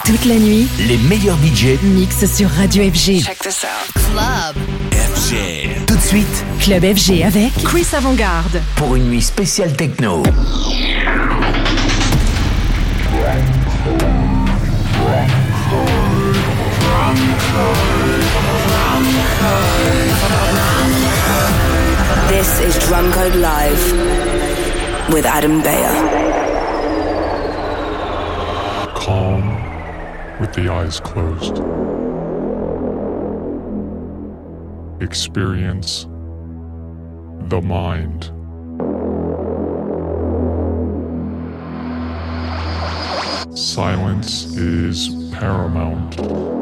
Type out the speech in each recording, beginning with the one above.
Toute la nuit, les meilleurs DJ mixent sur Radio FG. Check this out. Club FG. Tout de suite, Club FG avec Chris Avant-Garde. Pour une nuit spéciale techno. This is Drumcode Live with Adam Beyer. Calm with the eyes closed. Experience the mind. Silence is paramount.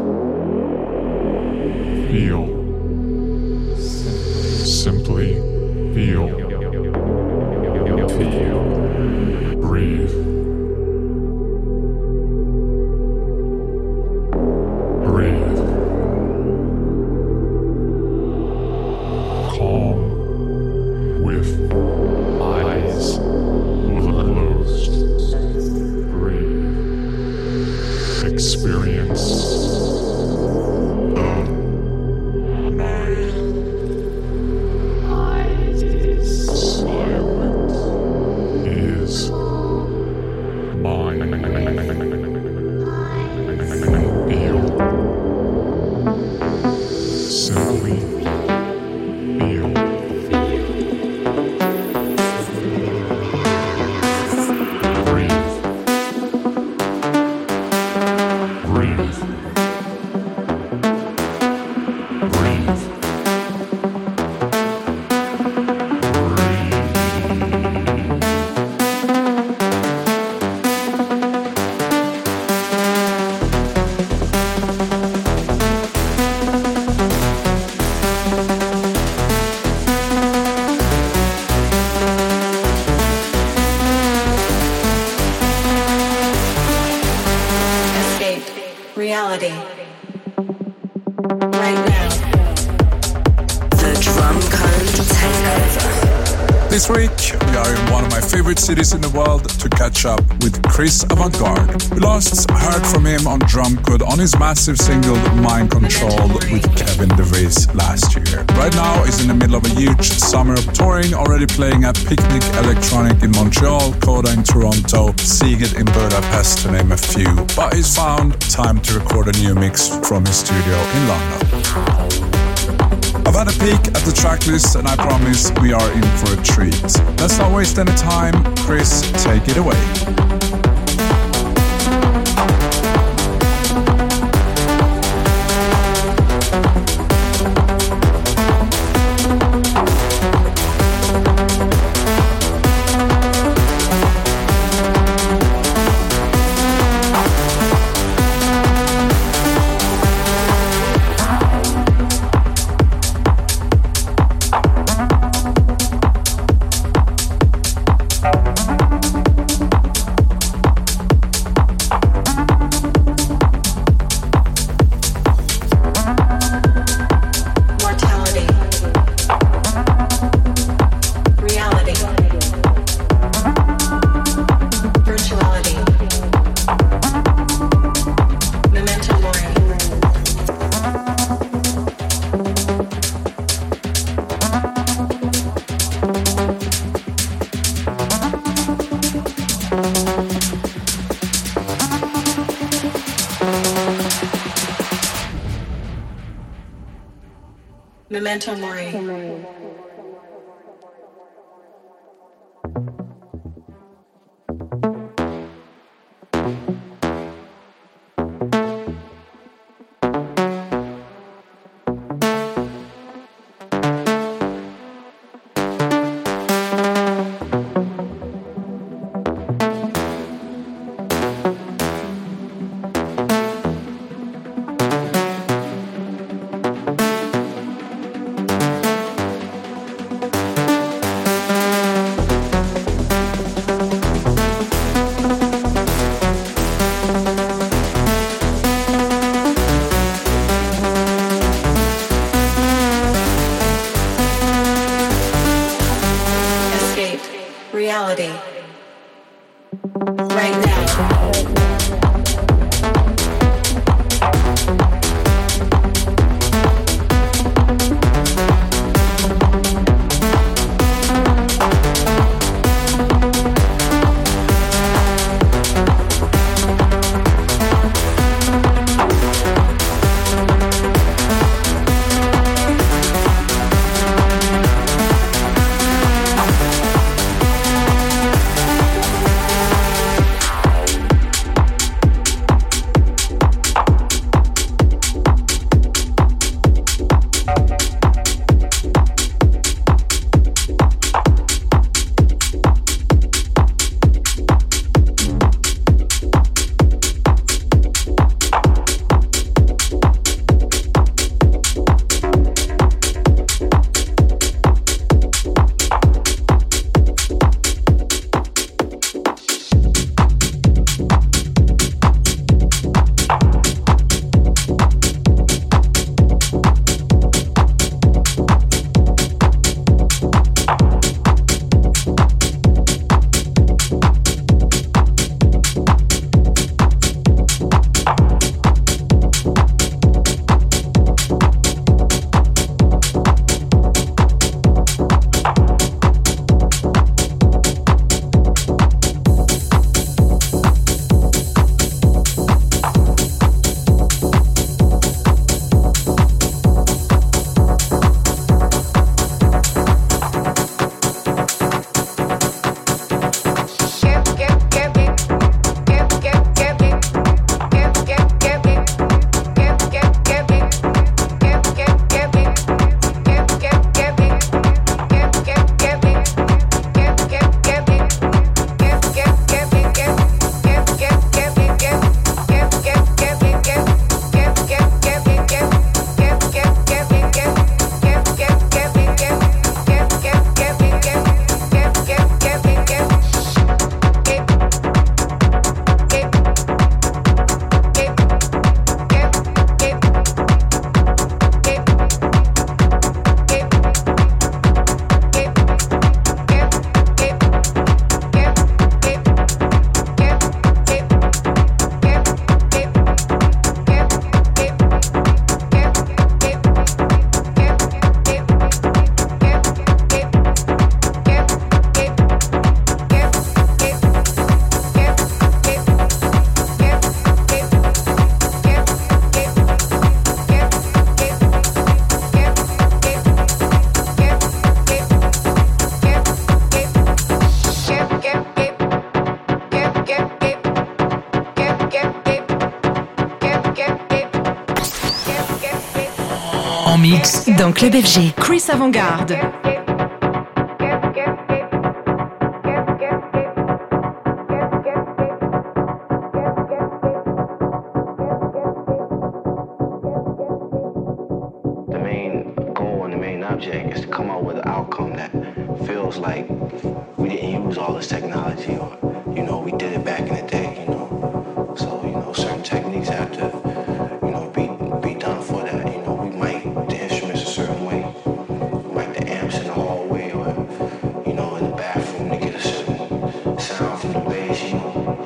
Feel. Simply feel. Feel. Breathe. Breathe. Calm with eyes closed. Breathe. Experience the night. Silence is mine. Feel. Simply feel. Breathe. Breathe. Breathe. Escape reality right now. The Drumcode Takeover. This week, we are in one of my favorite cities in the world to catch up with Chris Avant-Garde. We last heard from him on Drumcode on his massive single Mind Control with Kevin DeVries last year. Right now, he's in the middle of a huge summer of touring, already playing at Picnic Electronic in Montreal, Coda in Toronto, Seagate in Budapest, to name a few. But he's found time to record a new mix from his studio in London. I've had a peek at the tracklist and I promise we are in for a treat. Let's not waste any time. Chris, take it away. Mortality. Reality. Virtuality. Memento mori. Memento mori. mix dans Club FG. Chris Avant-Garde. Is to come out with an outcome that feels like we didn't use all this technology, or we did it back in the day, so certain techniques have to be done for that. We mic the instruments a certain way, mic the amps in the hallway, or in the bathroom to get a certain sound from the bass, and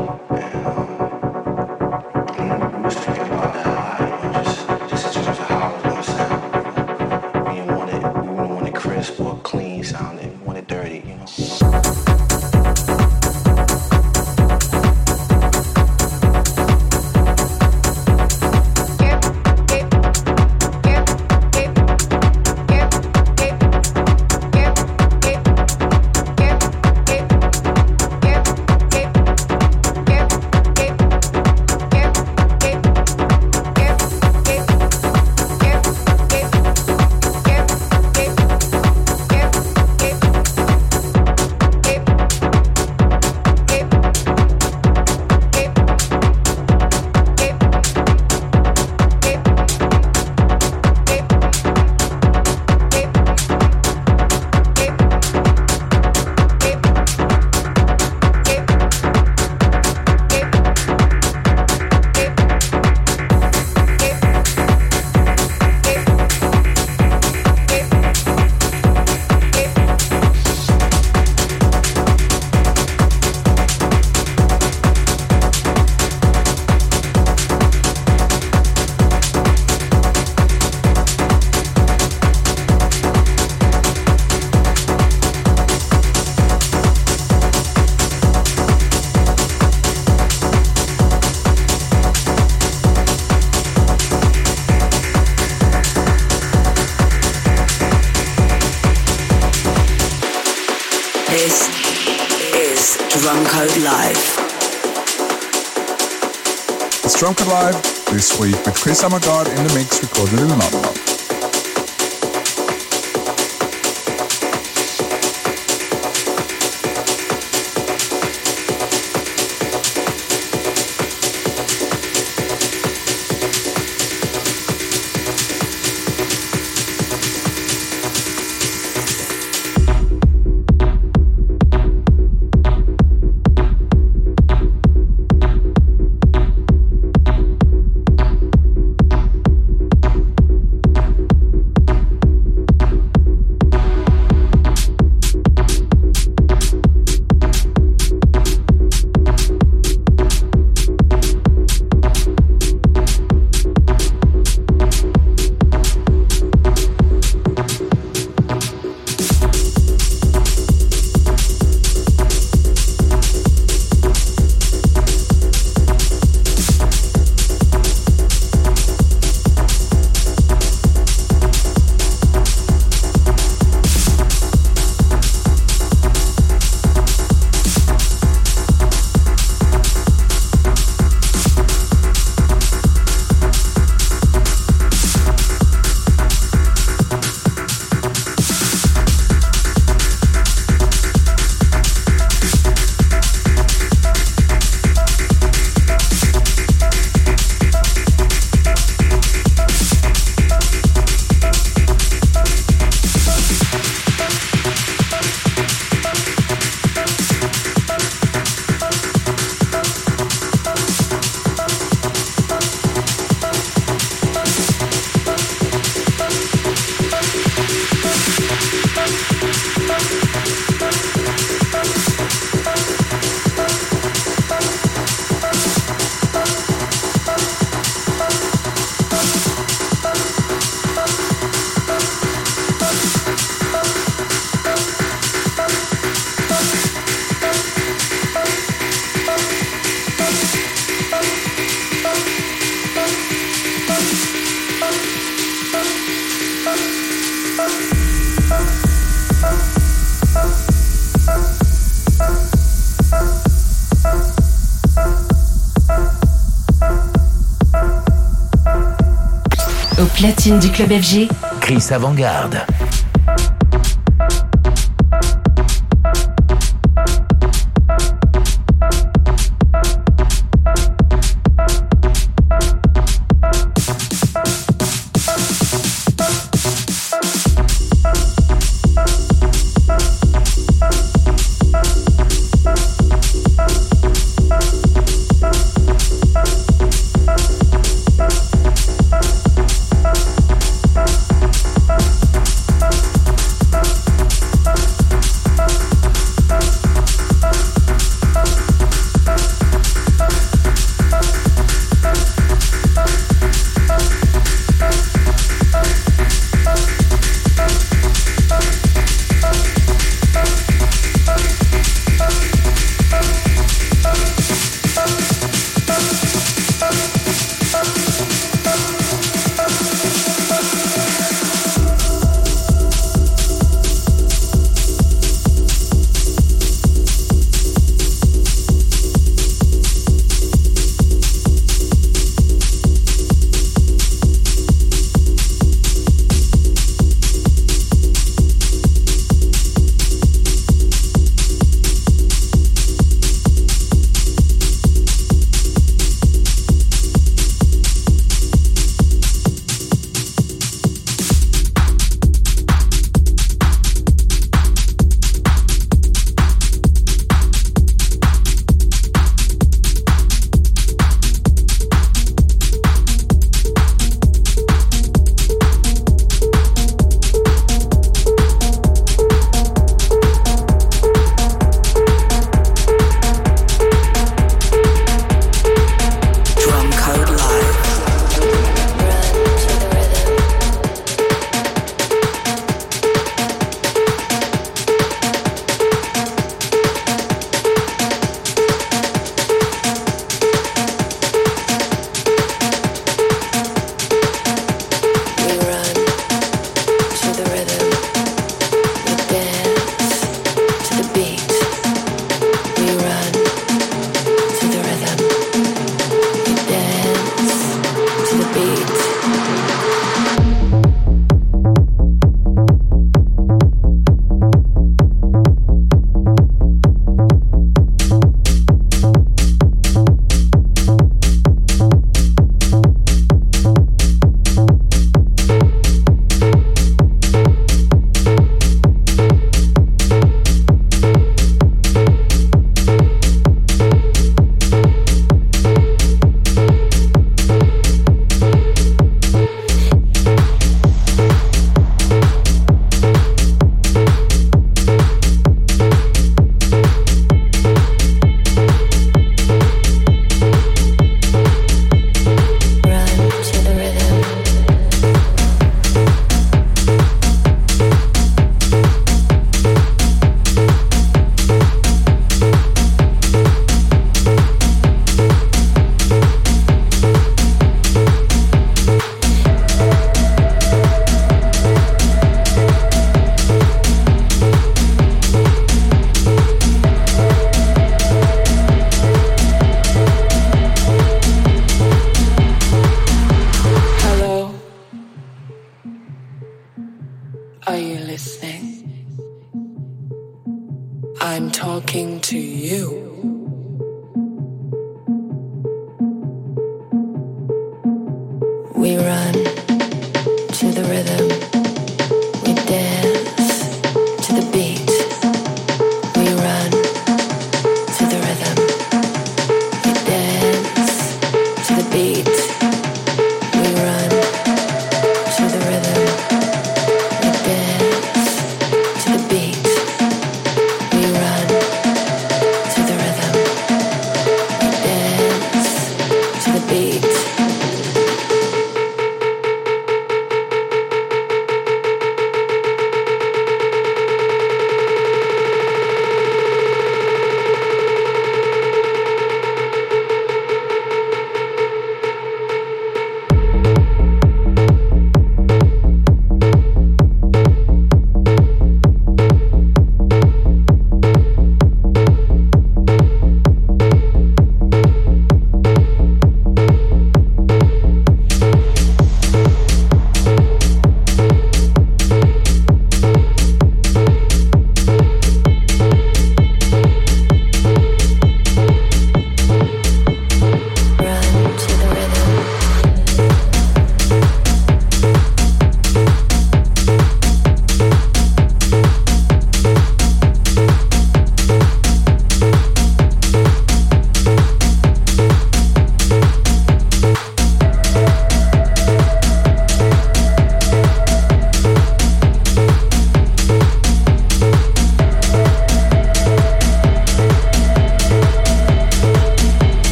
we was thinking about that a lot, just in terms of how it was gonna sound. We didn't want it crisp or clean sounding. We want it dirty, This is Drumcode Live. It's Drumcode Live this week with Chris Avant-Garde in the mix, recorded in London. Au platine du Club FG, Chris Avant-Garde.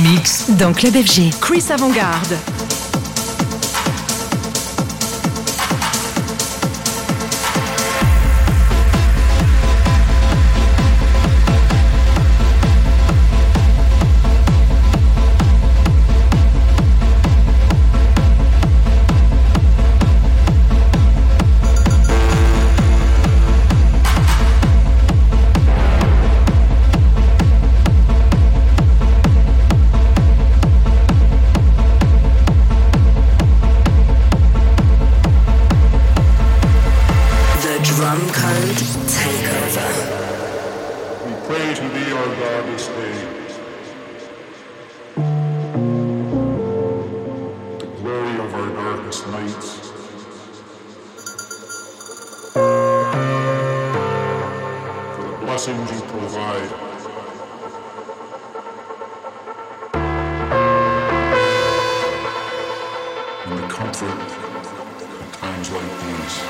mix dans Club FG. Chris Avant-Garde. blessings you provide. And the comfort at times like these.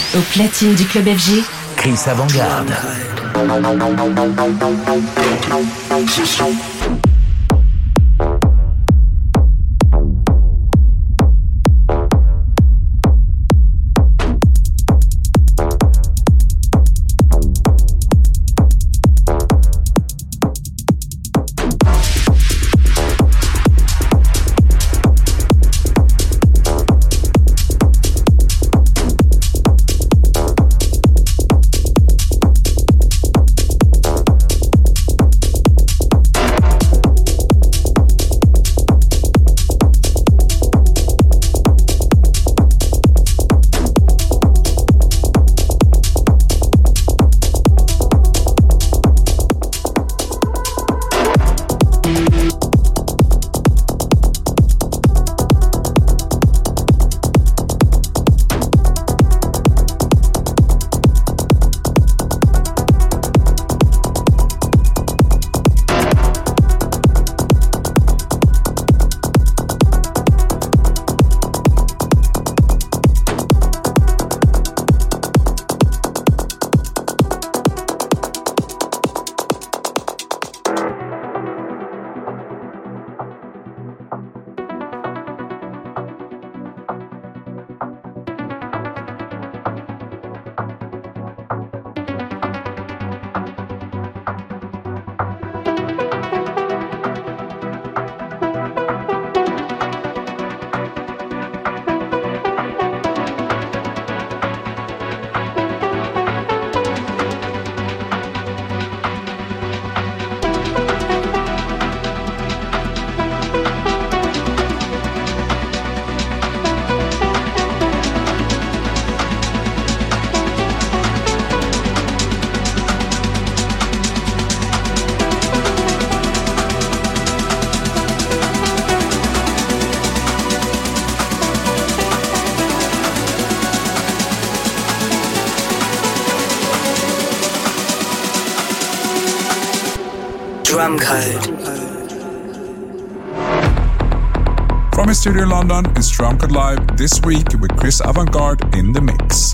Au platine du Club FG, Chris Avant-Garde. Drum Code. From his studio in London, it's Drum Code Live this week with Chris Avant-Garde in the mix.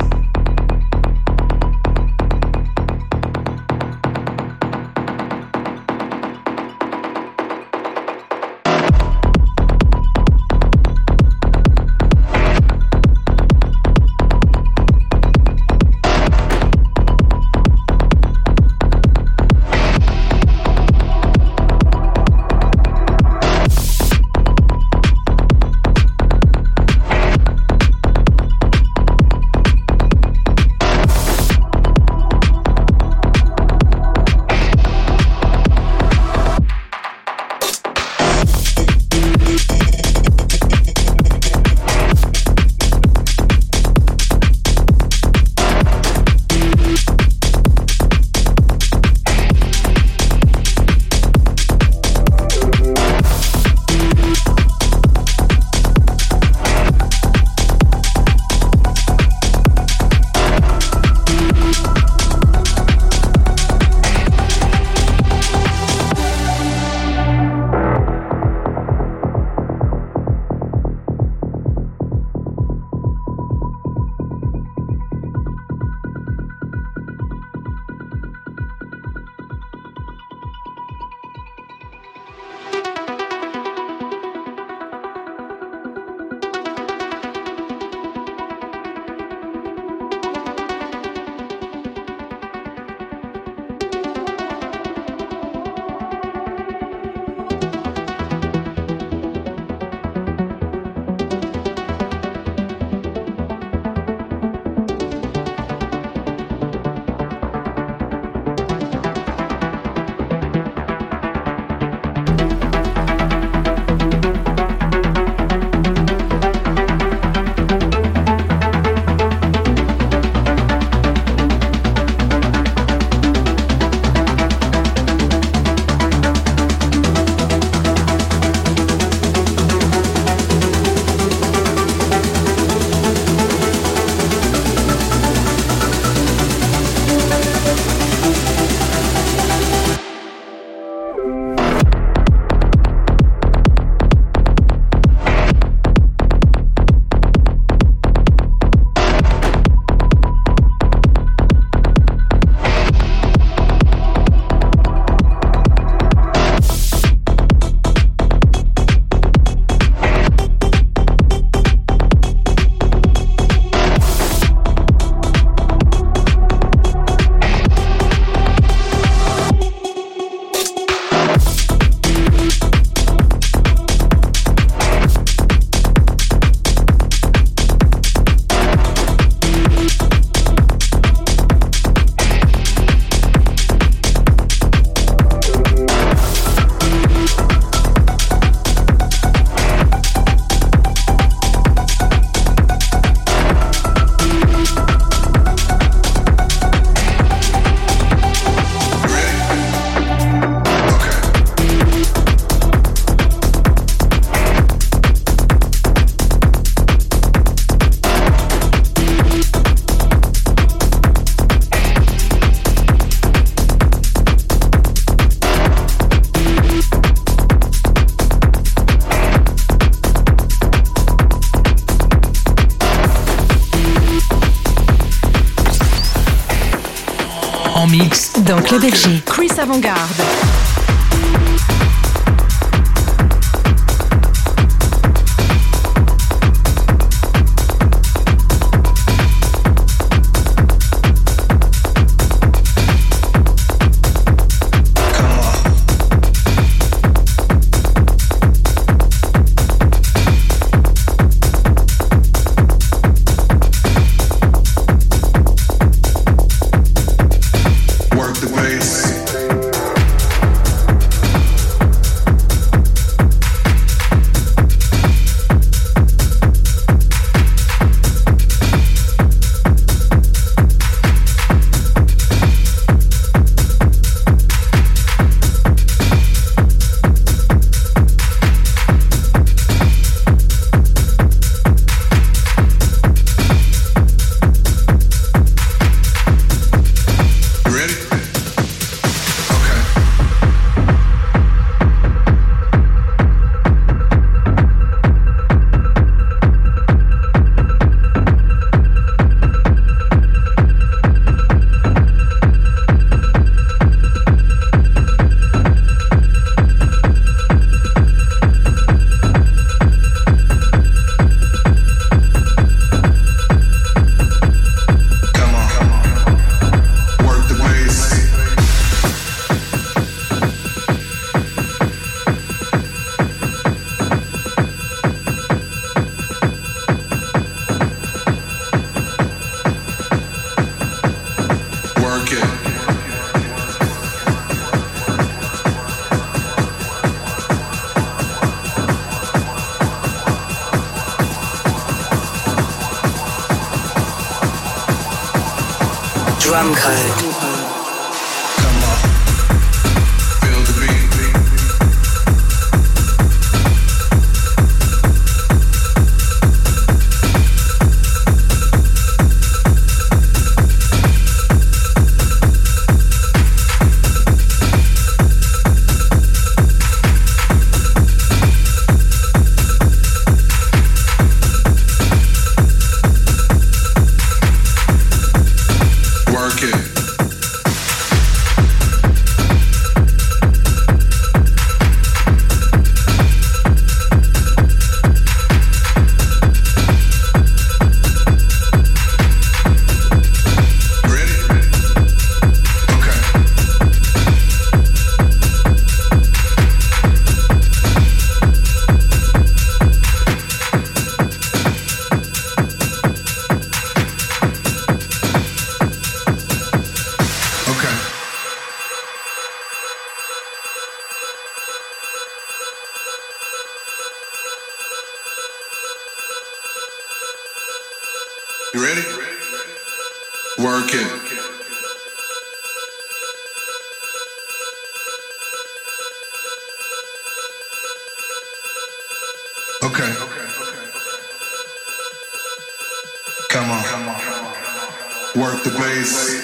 mix Dans Club FG, Chris Avant-Garde. Drum code. You ready? Work it. Okay. Come on. Work the bass.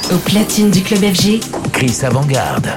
Au platine du Club FG, Chris Avant-Garde.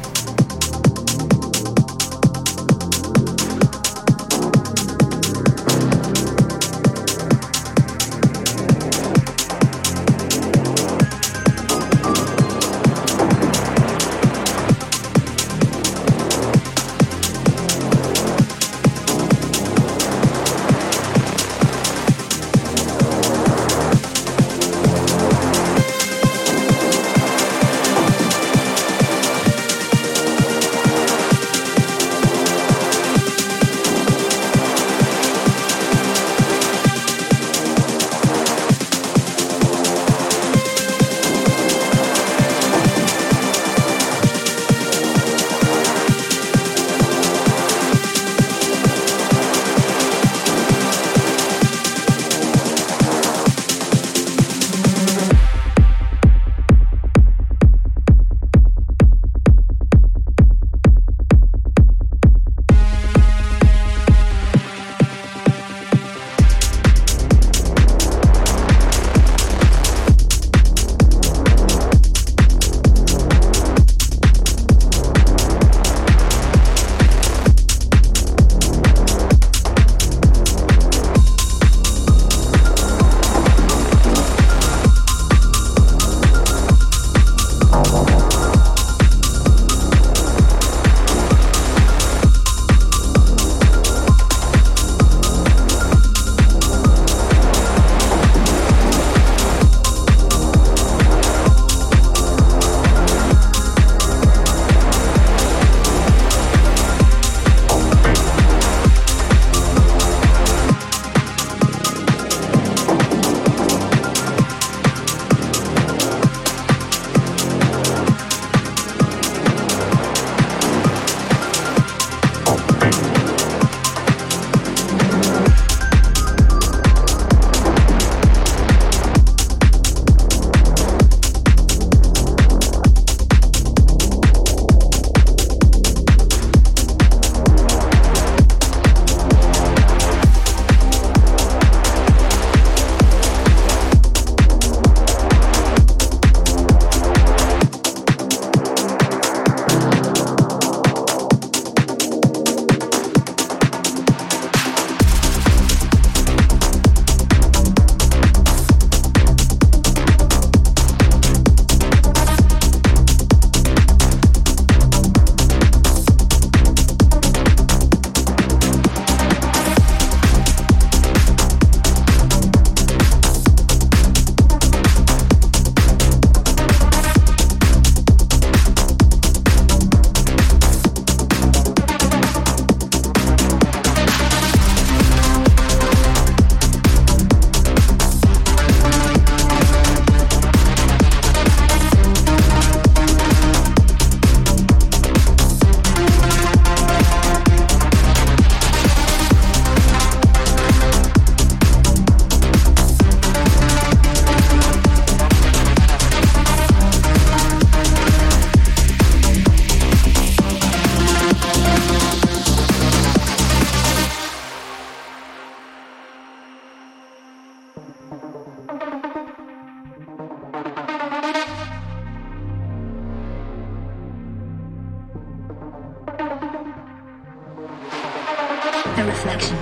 A reflection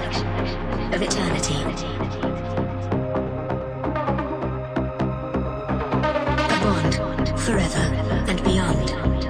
of eternity. A bond forever and beyond.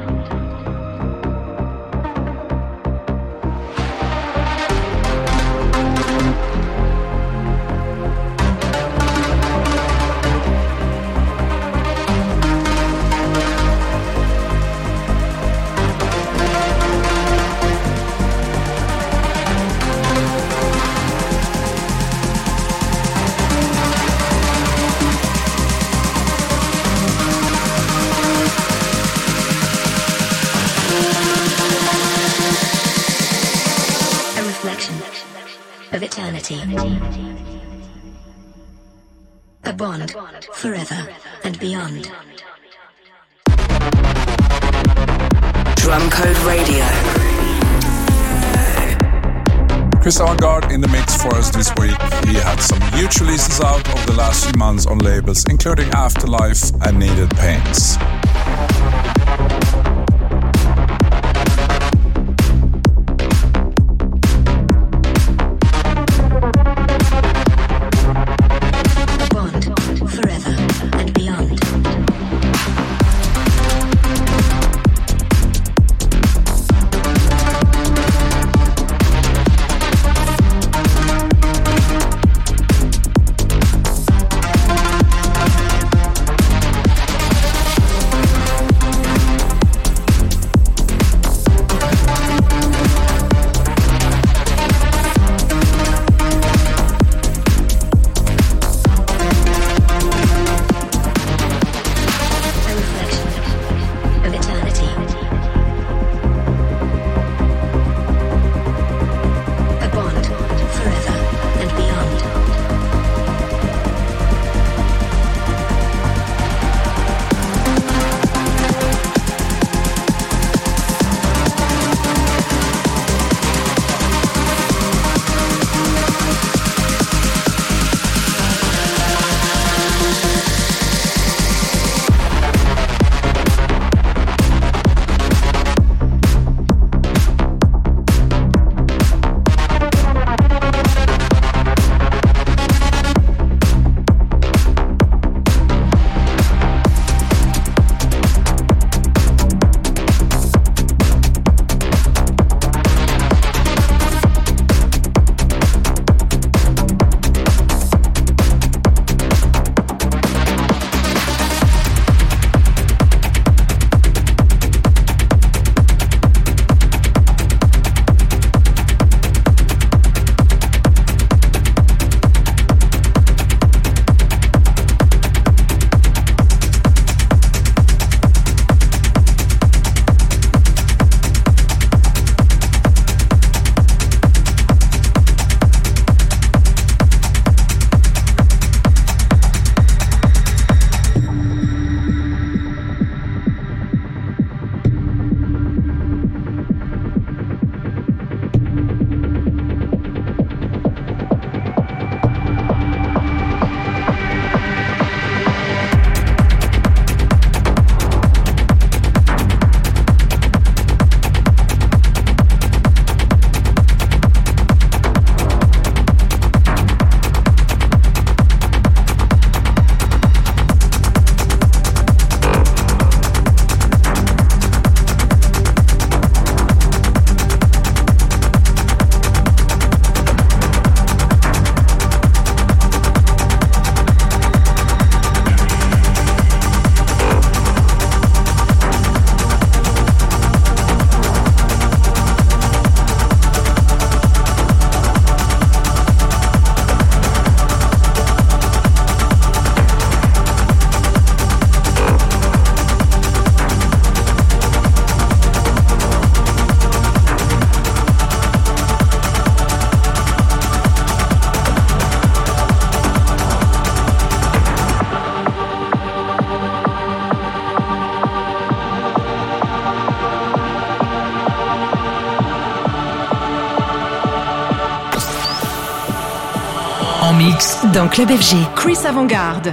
Of eternity. A bond forever and beyond. Drum Code Radio. Chris Avantgarde in the mix for us this week. He had some huge releases out over the last few months on labels, including Afterlife and Needed Pains. Mix dans Club FG. Chris Avantgarde.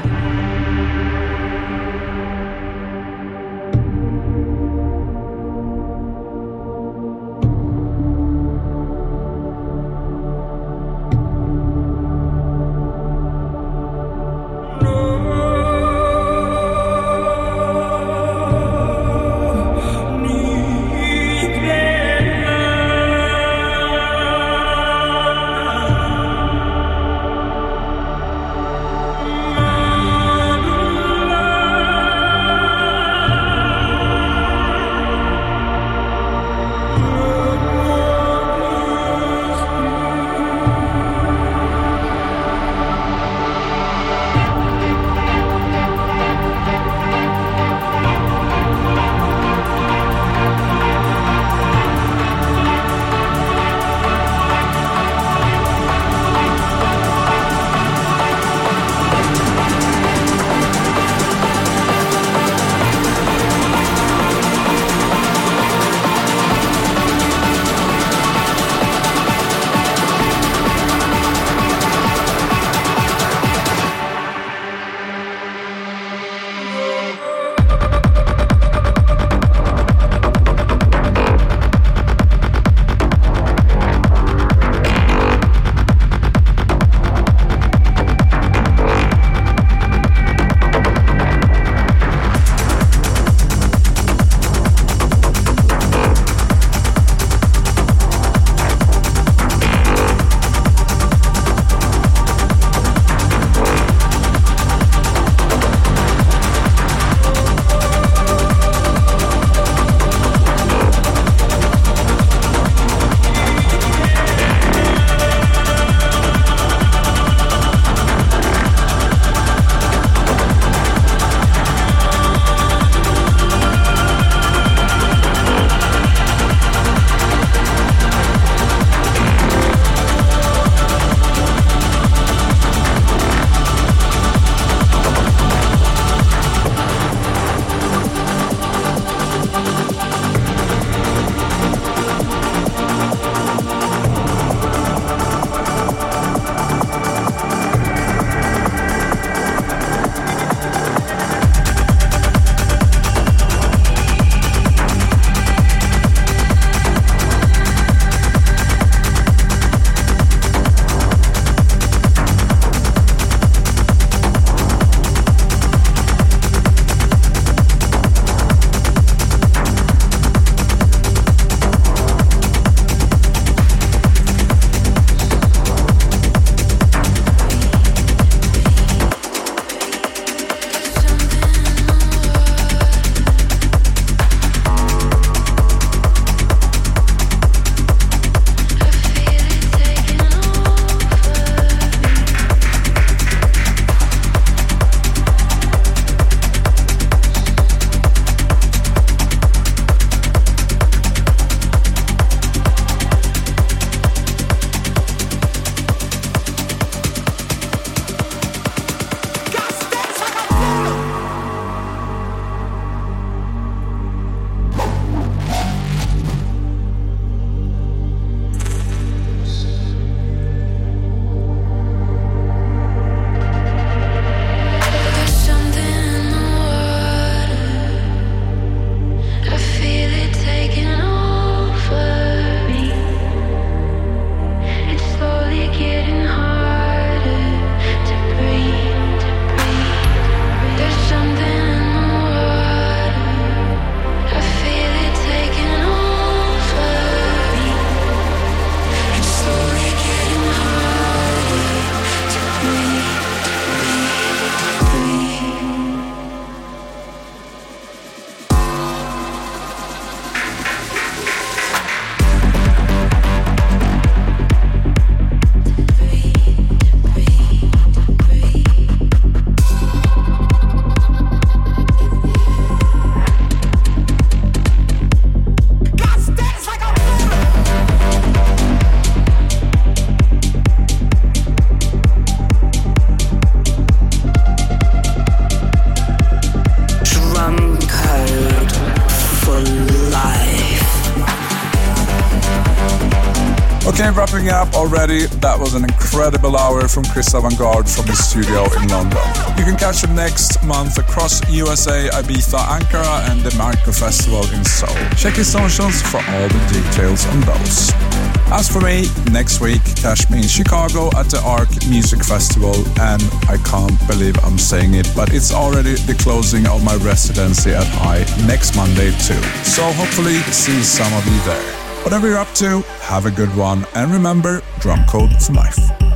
summing up already, that was an incredible hour from Chris Avantgarde from his studio in London. You can catch him next month across USA, Ibiza, Ankara and the Micro Festival in Seoul. Check his socials for all the details on those. As for me, next week, catch me in Chicago at the ARC Music Festival, and I can't believe I'm saying it, but it's already the closing of my residency at High next Monday too. So hopefully see some of you there. Whatever you're up to, have a good one, and remember, drum code for life.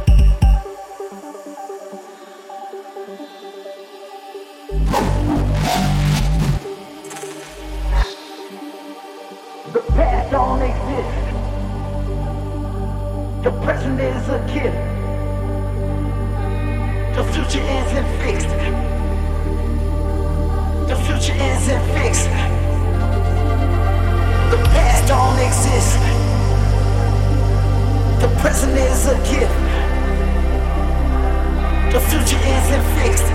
The past don't exist. The present is a gift. The future isn't fixed. The future isn't fixed. The past don't exist. The present is a gift. The future isn't fixed.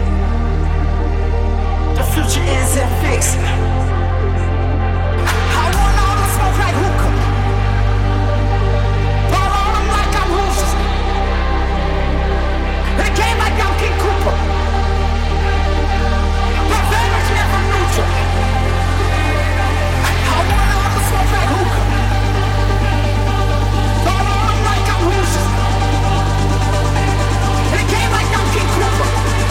The future isn't fixed. I want all the smoke like hookah. Pour on them like I'm Rufus. They came like I'm King Cooper. My family's never neutral. I want all the smoke like hookah. Pour on them like I'm Rufus. They came like I'm King Cooper.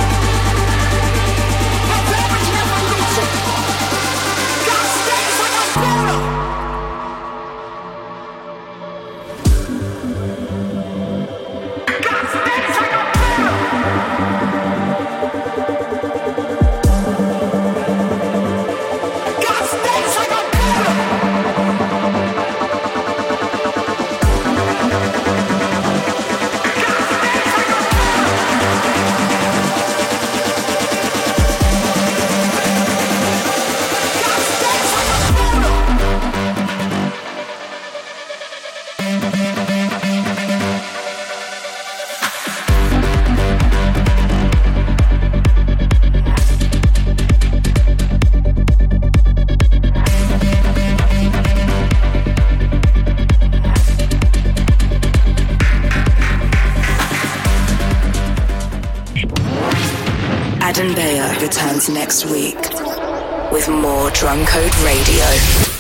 My family's never neutral. God stays like I'm Buddha. Adam Beyer returns next week with more Drum Code Radio.